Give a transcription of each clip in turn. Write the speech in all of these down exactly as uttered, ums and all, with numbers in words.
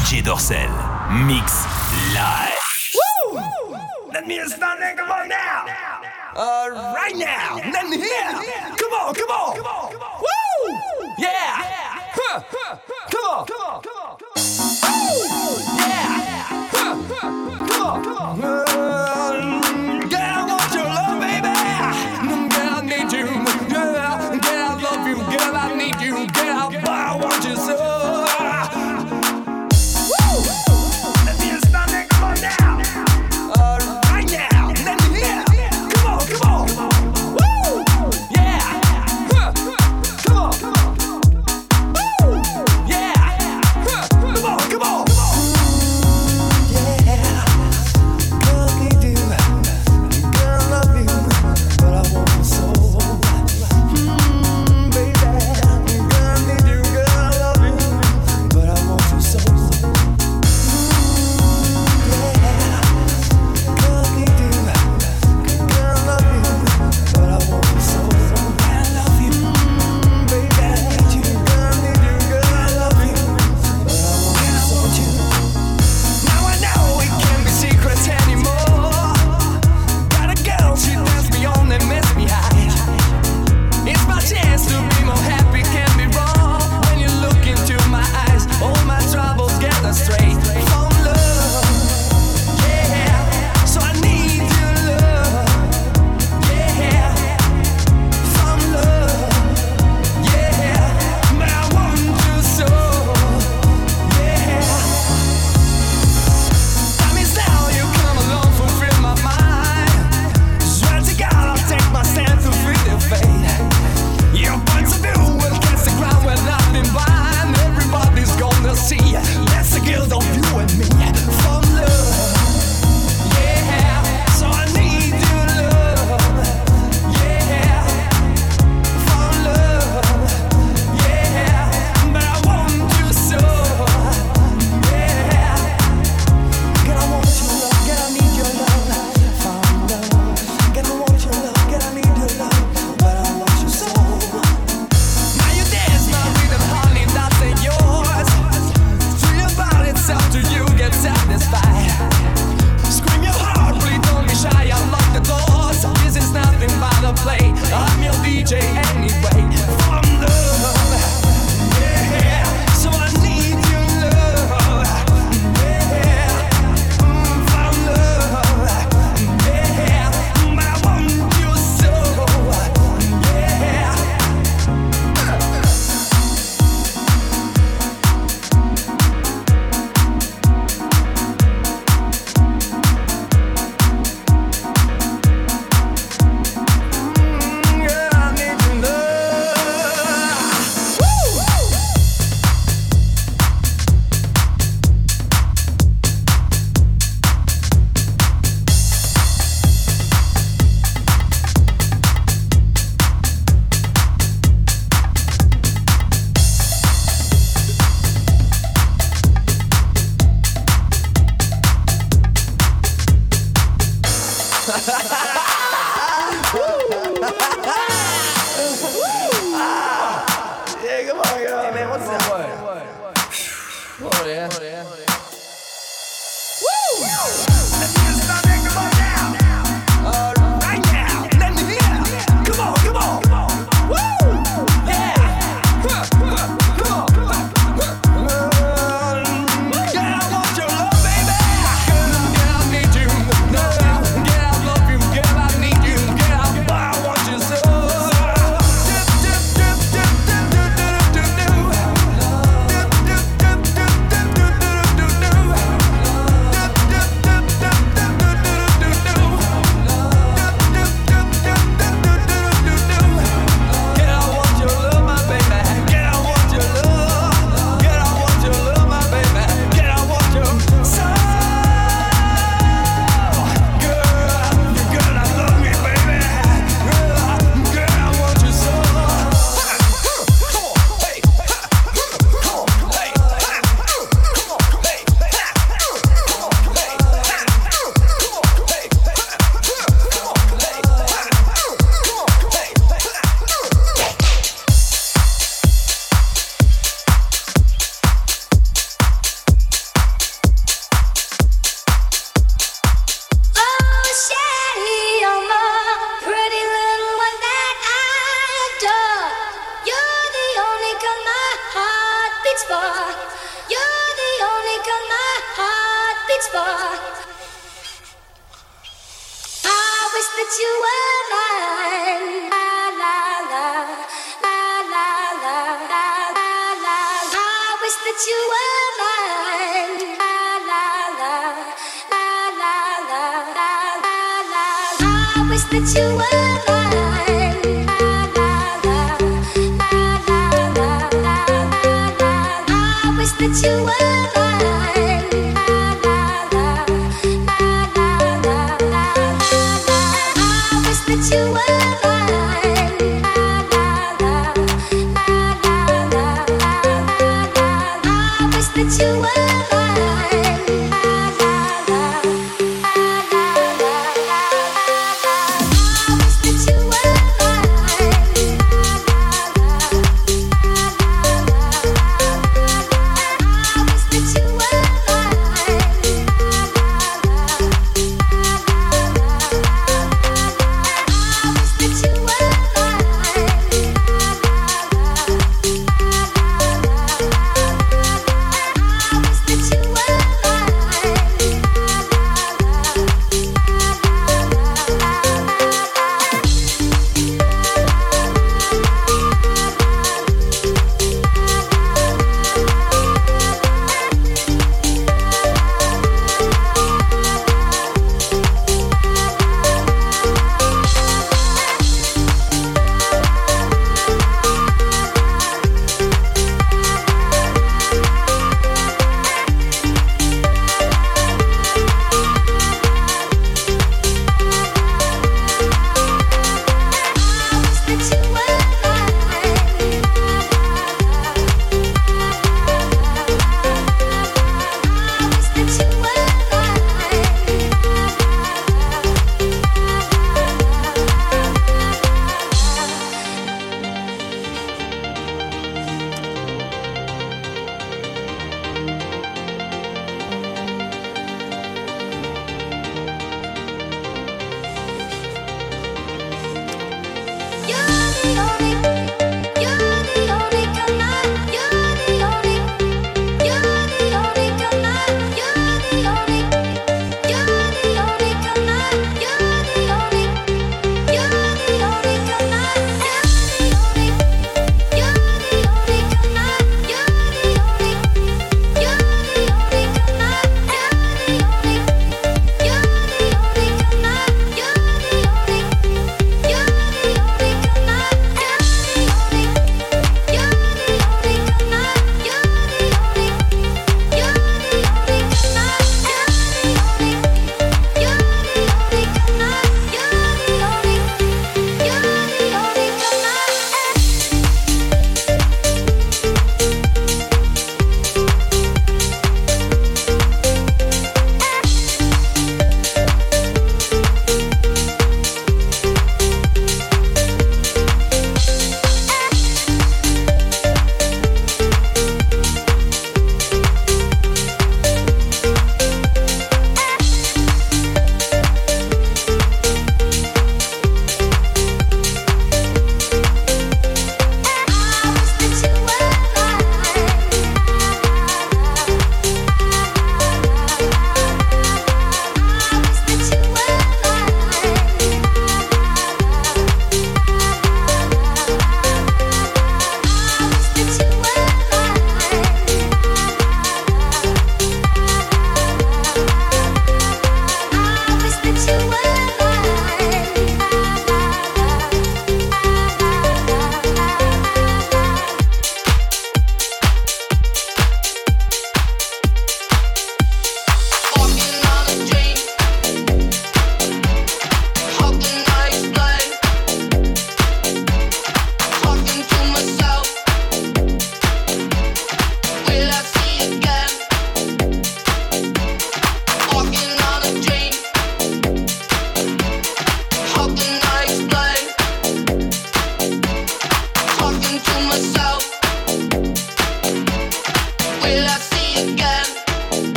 J Dorsel. Mix live. Woo! Let me start that, come on now. Uh, right now. Let me hear. Come on, come on. Woo! Yeah. Huh. Come on. Come on. Woo! Yeah. Huh. Come on. Come on. Uh, girl, I want your love, baby. Girl, I need you. Girl, girl, I love you. Girl, I need you. Girl, I want you so. Do for. You're the only girl my heart beats for. I wish that you were mine. La la la, la la la, la la la. I wish that you were mine. La la la, la la la, la la la. I wish that you were mine. That you were mine. La la la, la la la, la la la. I wish that you were mine. La la la, la la la, la la la. I wish that you were mine. La la la, la la la, la la la. I wish that you were mine.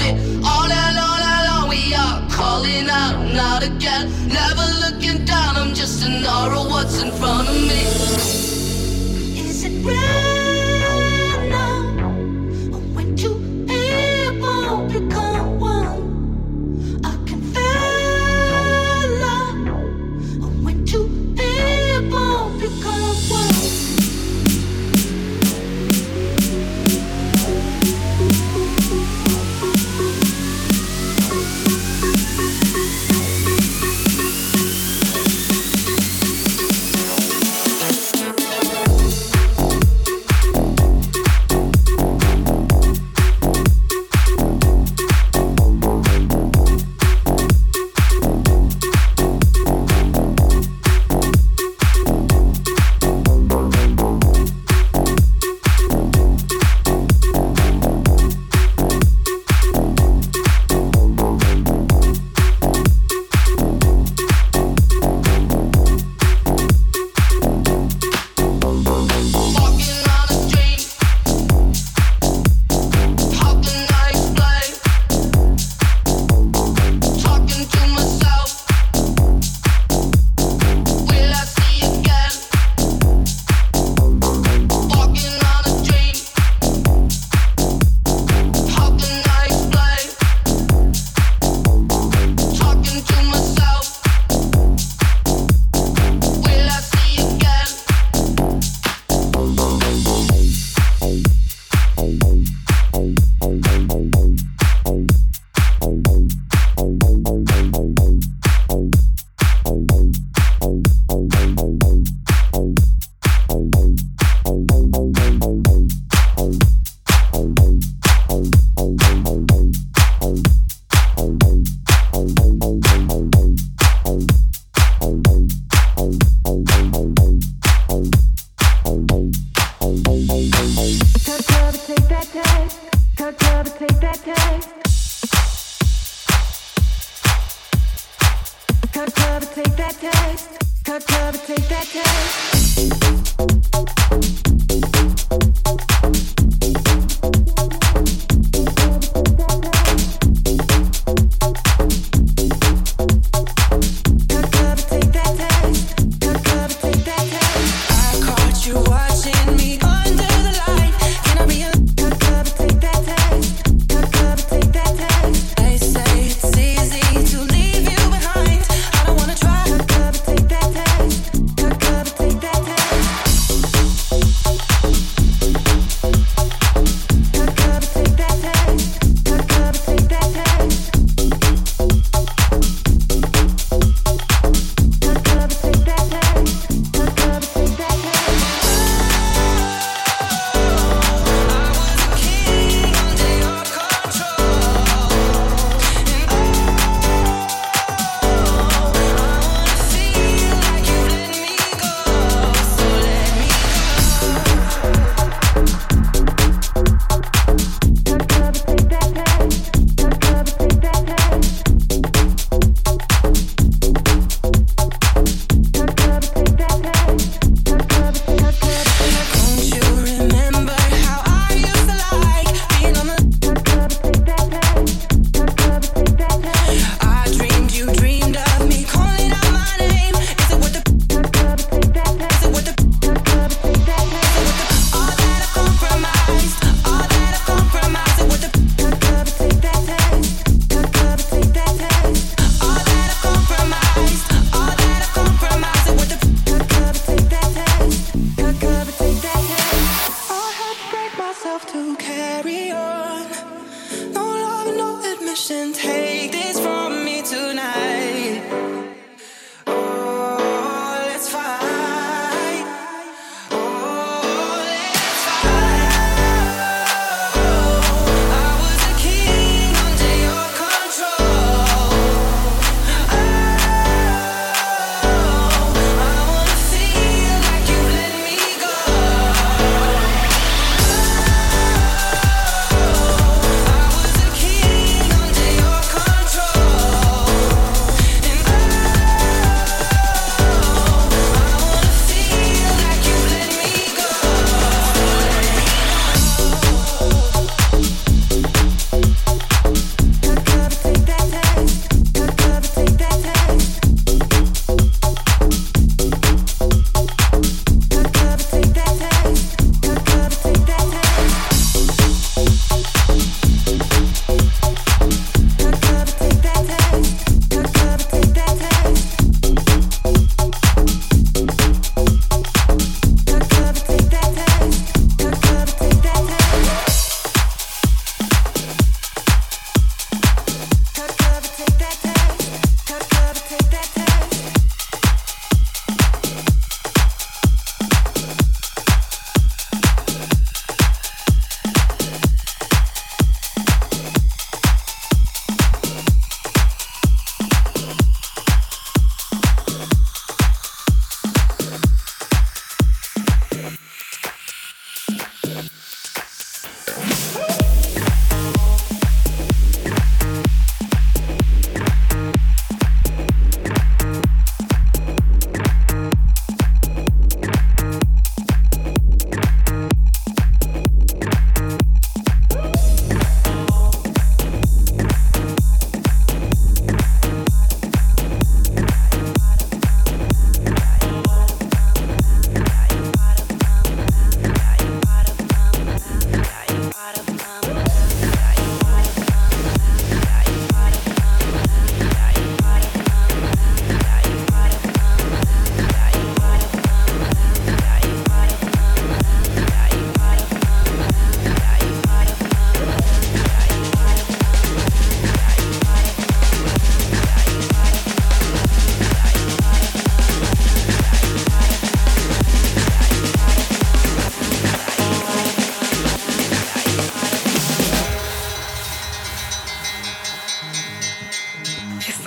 it. All night long, night long, we are calling out, not again. Never looking down, I'm just an aura, what's in front of me? Is it right now? When two people become one, I can feel love. When two people become one.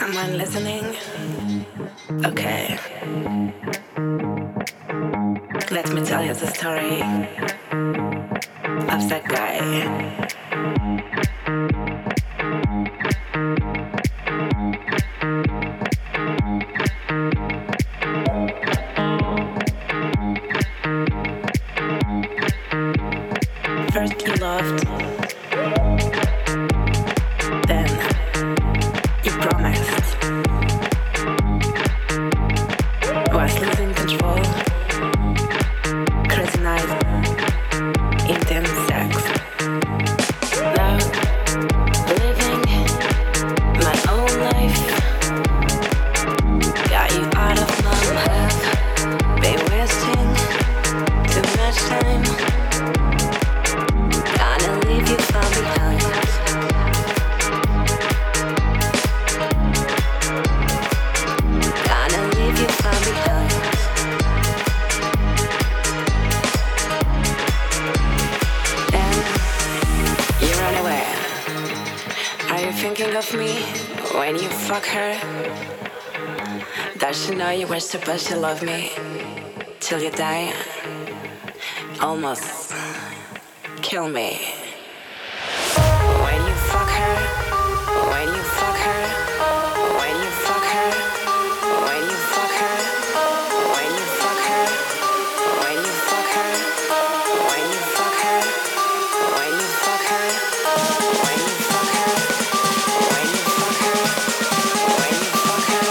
Someone listening? Okay. Let me tell you the story of that guy. First you loved, then you promised. Was losing control, crazy night, intense sex. Now, living my own life. Got you out of my life. Been wasting too much time. Gonna leave you far behind. Gonna leave you far behind. Then you run away. Are you thinking of me when you fuck her? Does she know you were supposed to love me till you die? Almost kill me. When you fuck her, when you fuck her, when you fuck her, when you fuck her, when you fuck her, when you fuck her, when you fuck her, when you fuck her, when you fuck her, when you fuck her, when you fuck her,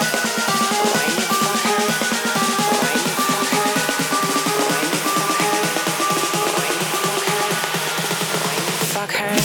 when you fuck her, when you fuck her, when you fuck her, when you fuck her, when you fuck her.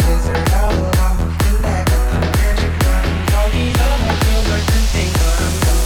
All these other girls are tempting, but I'm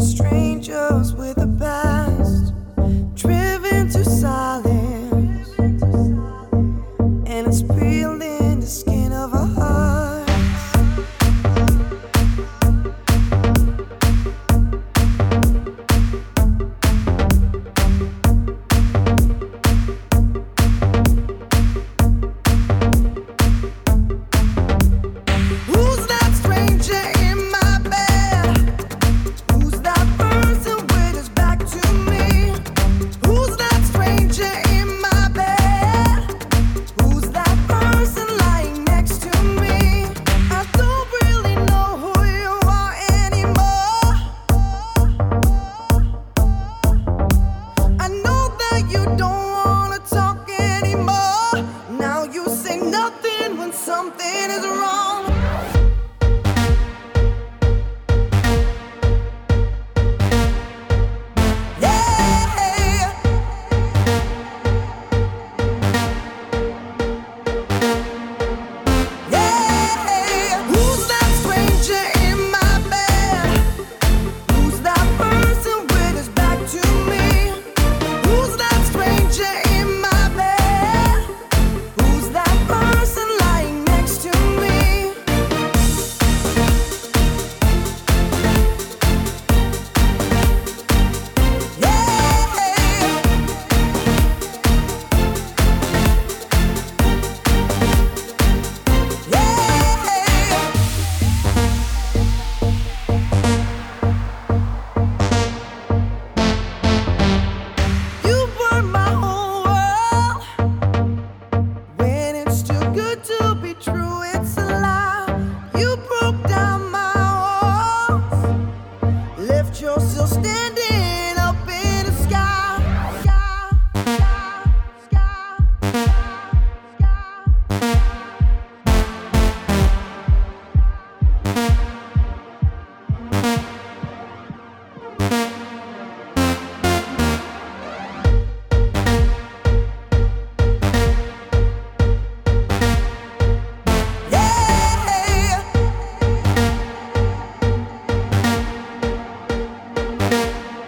Strangers with a past, driven to silence, and it's peeling the skin of our hearts. Who's that stranger in my bed? Who's that person with his back to me? Who's that stranger in my bed? Who's that person lying next to me? I don't really know who you are anymore. I know that you don't wanna talk anymore. Now you say nothing when something is wrong. Who's that stranger in my bed? Who's that person with his back to me? Who's that stranger in my bed? Who's that person lying next to me? You burned my whole world. When it's too good to be true, it's a lie. You broke down my walls, left yourself standing up in the sky. Sky, sky, sky, sky. Yeah.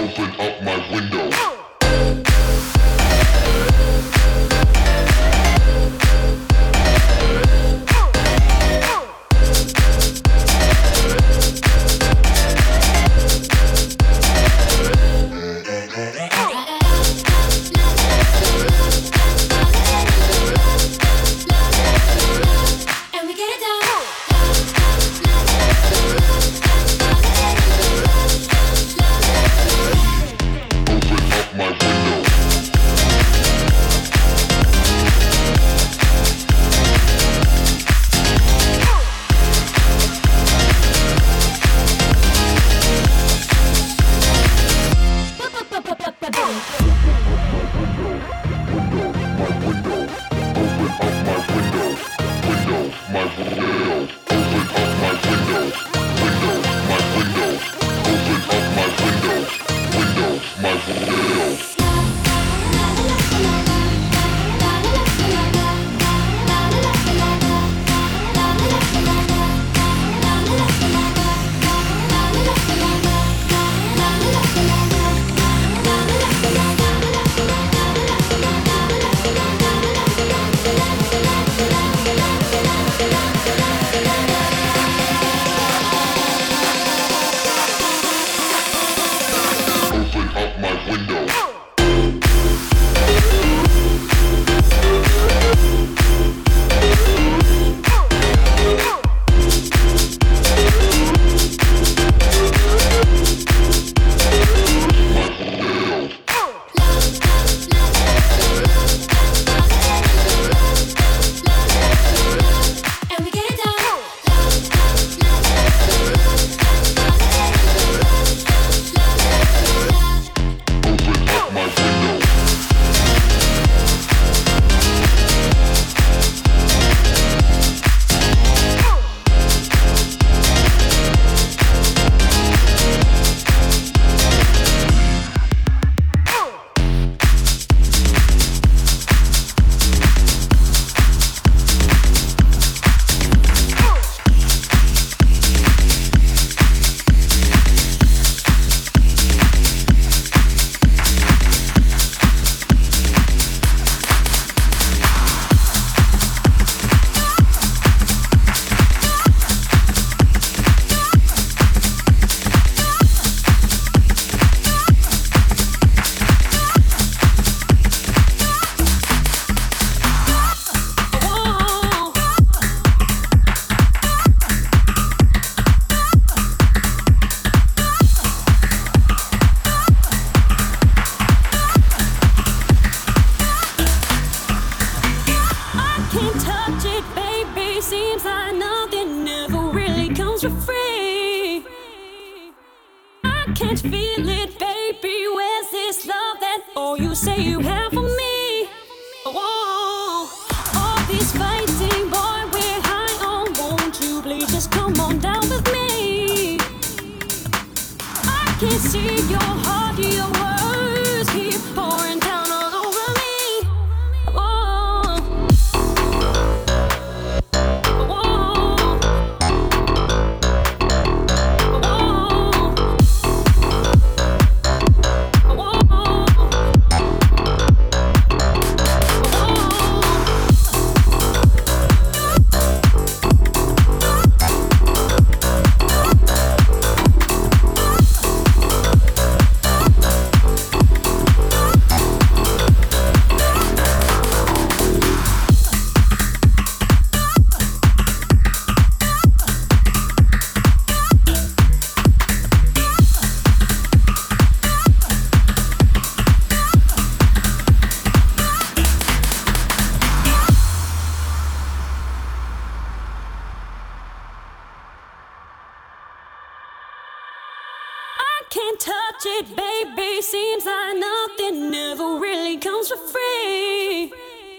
Can't touch it, baby. Seems like nothing ever really comes for free.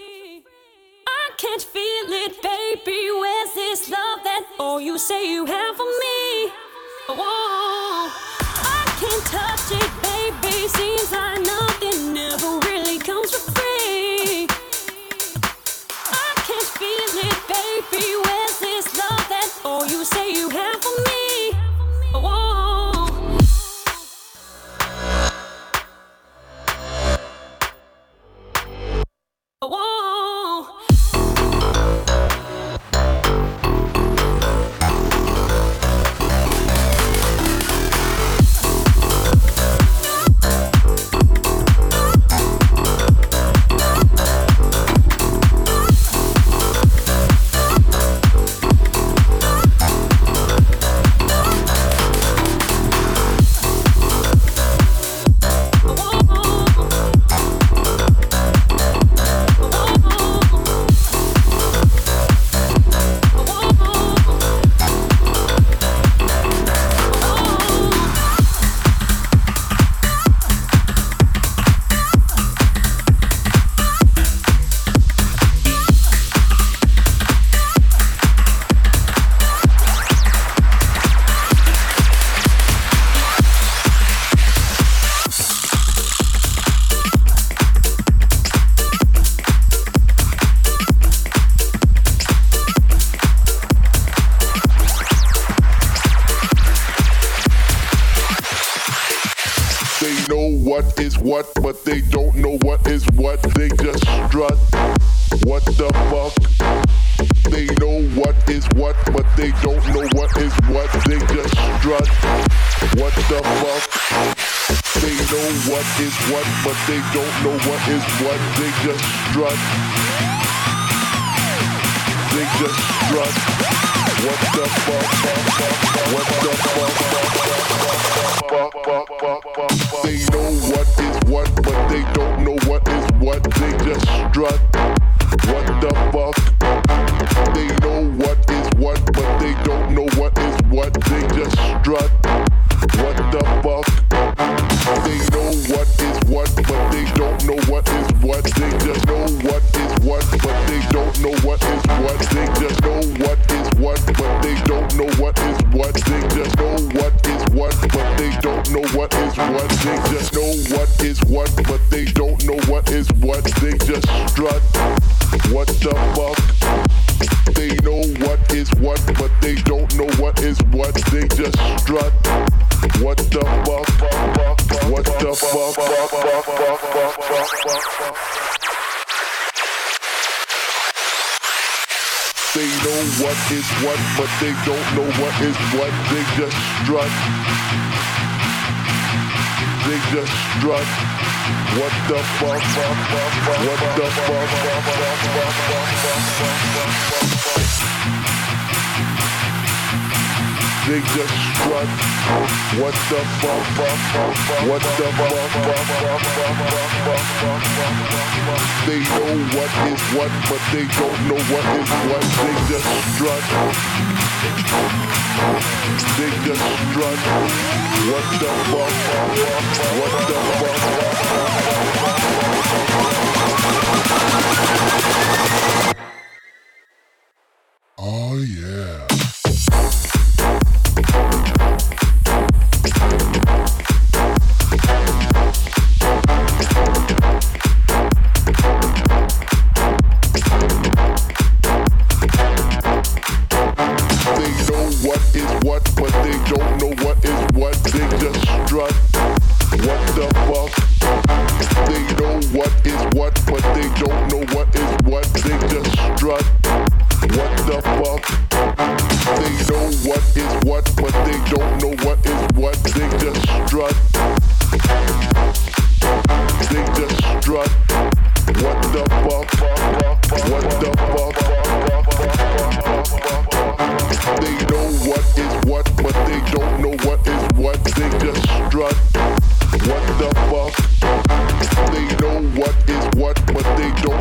I can't feel it, baby. Where's this love that all you say you have for me? Oh, I can't touch it, baby. Seems like nothing ever really comes for free. I can't feel it, baby. Where's this love that all you say you have for me? Oh. what, but they don't know what is what. They just strut. What the fuck? They know what is what, but they don't know what is what. They just strut. What the fuck? They know what is what, but they don't know what is what. They just strut. They just strut. What the fuck? What the fuck? They know what is what, but they don't know what is what. They just strut. What the fuck? They know what is what, but they don't know what is what. They just strut. What the fuck? They know what is what, but they don't know what is what. They just know what is what, but they don't know what is what. They just know what is what, but they don't know what is what. They just know what is what, but they don't know what is what. They just know what is what, but they don't know what is what. They just strut. What the fuck? They know what is what, but they don't know what is what. They just strut. What the fuck? What the fuck? They know what is what, but they don't know what is what. They just strut. They just strut. What the fuck? What the fuck? They just strut. What the fuck? What the fuck? They know what is what, but they don't know what is what. They just strut. They just strut. What the fuck? What the fuck? Oh yeah. They know what is what, but they don't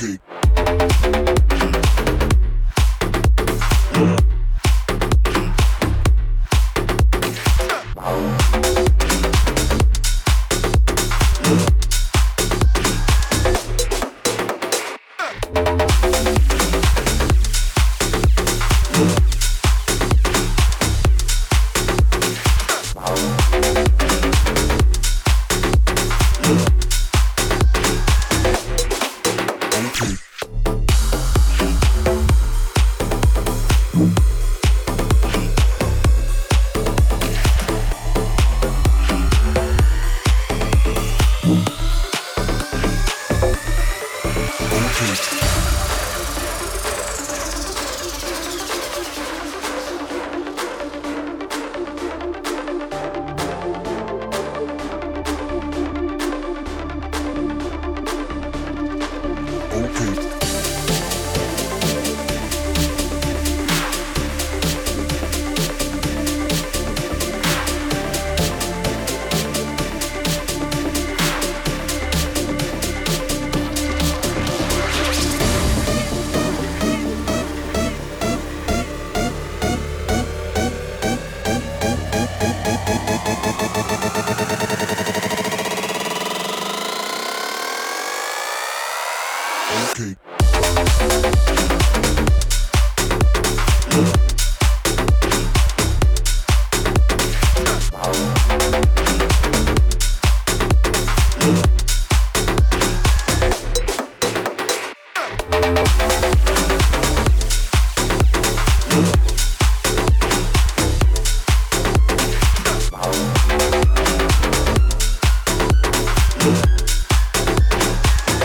Okay.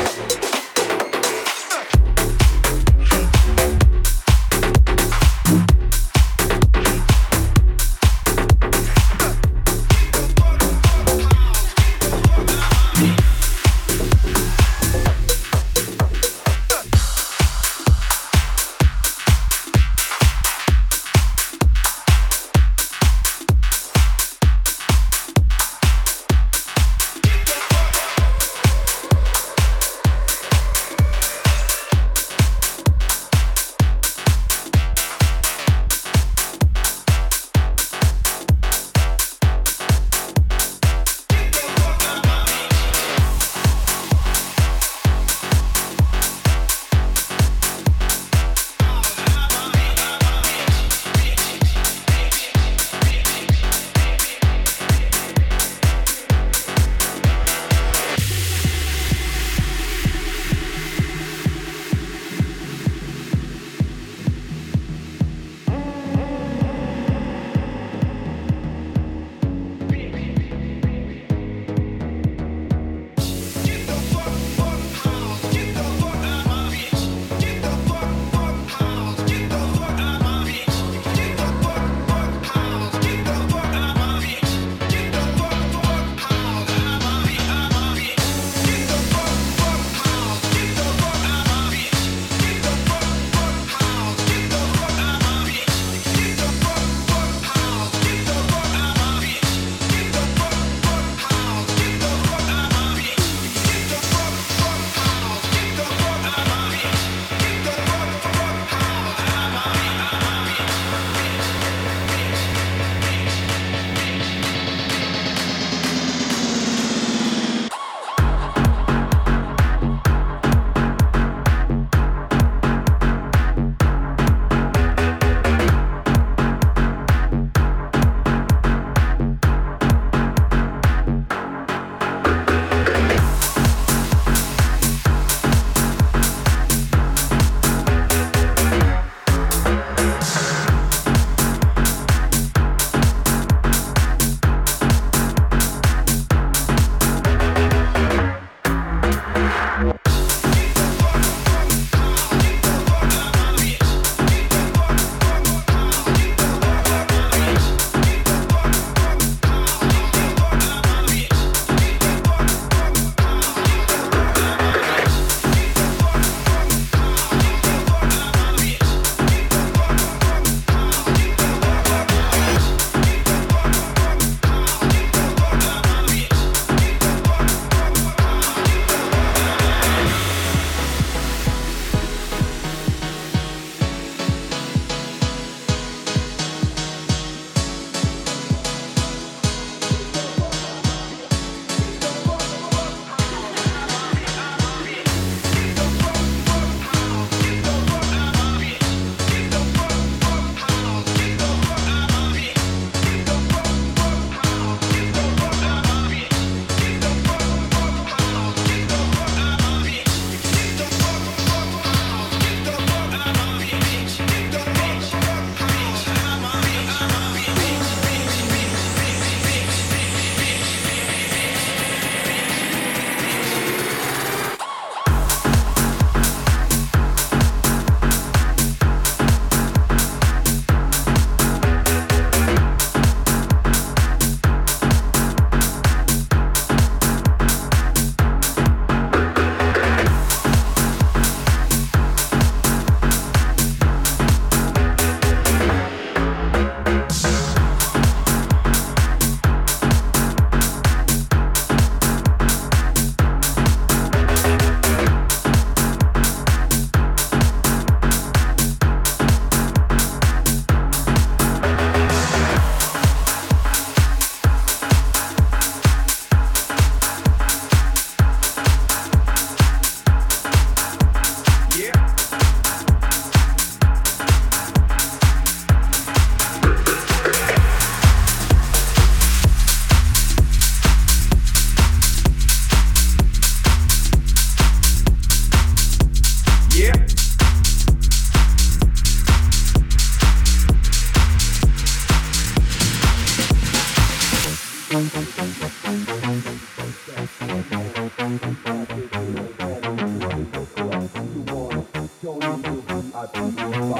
We'll be right back.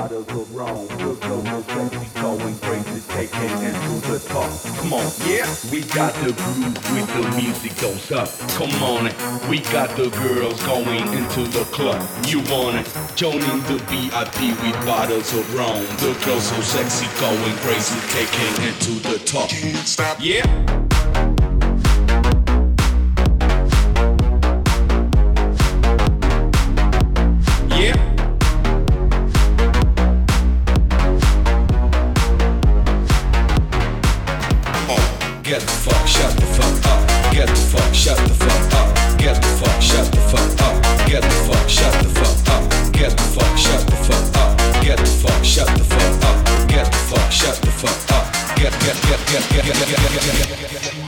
bottles of rum. The flow is sexy, going crazy, taking into the top. Come on, yeah, we got the groove with the music goes up. Come on, we got the girls going into the club. You want it? Joining the V I P with bottles of rum. The girls so sexy, going crazy, taking it to the top. Stop. Yeah. Yeah. Get the fuck, shut the fuck up. Get the fuck, shut the fuck up. Get the fuck, shut the fuck up. Get the fuck, shut the fuck up. Get the fuck, shut the fuck up. Get the fuck, shut the fuck up. Get the fuck, shut the fuck up. Get get get get get get get get get get.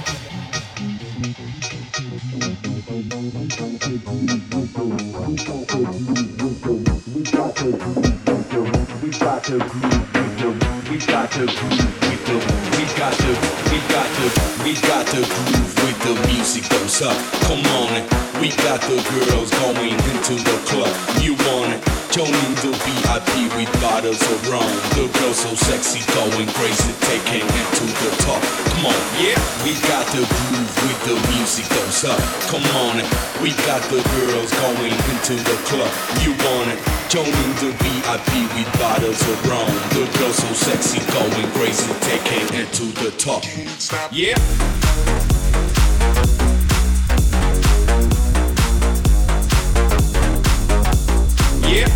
We got to we got to we got to we got to we got to we got to groove with the music goes up. Come on, we got the girls going into the club. You want it? Joining the V I P with bottles of rum. The girls so sexy, going crazy, taking it to the top. Come on, yeah, we got the groove with the music goes up. Come on, we got the girls going into the club. You want it? Joining the V I P with bottles of rum. The girls so sexy, going crazy, taking it to the top. Yeah. Yeah.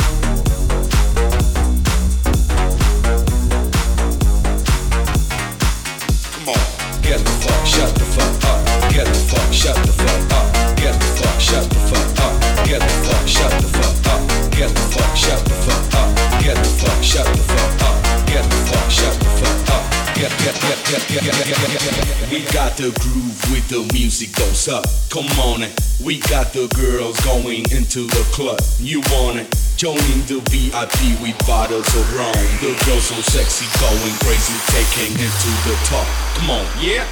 Come on. Get the fuck, shut the fuck up. Get the fuck, shut the fuck up. Get the fuck, shut the fuck up. Get the fuck, shut the fuck up. Get the fuck, shut the fuck up. Get the fuck, shut the fuck up. Get the fuck, shut the fuck up. Get get get get get get get get get. We got the groove with the music goes up. Come on, we got the girls going into the club. You want it? Joining the V I P with bottles of rum. The girls so sexy, going crazy, taking it to the top. Come on, yeah.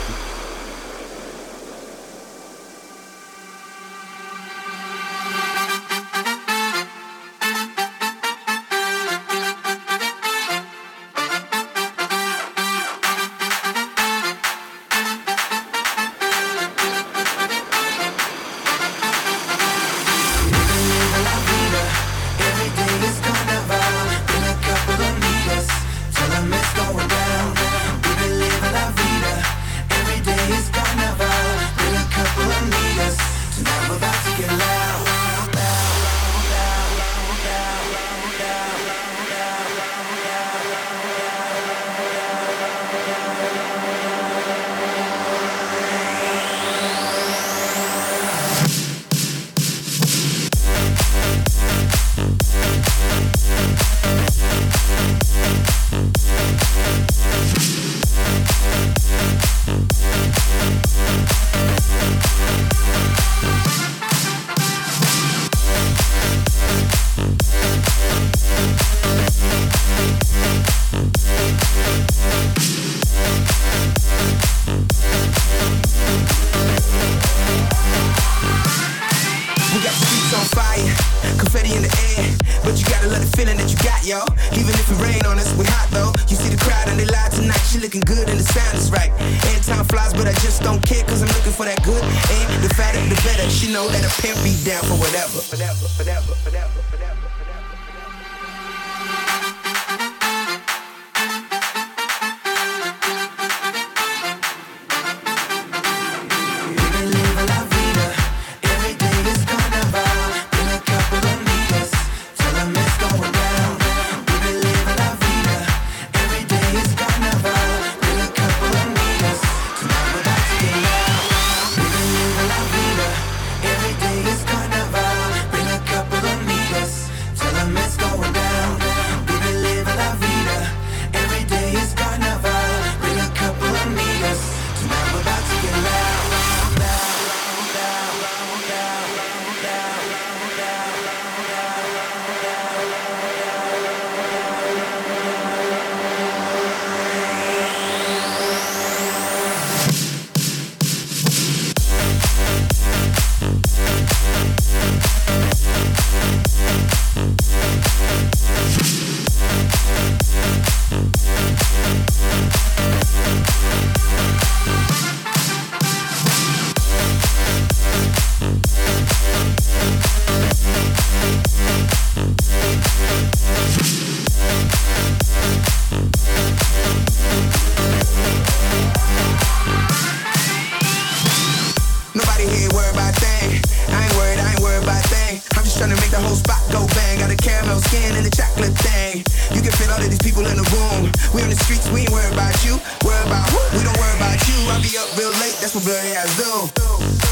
whole spot go bang. Got a caramel skin and a chocolate thing. You can fit all of these people in the room. We on the streets, we ain't worried about you. Worry about who? We don't worry about you. I'll be up real late, that's what bloody ass do.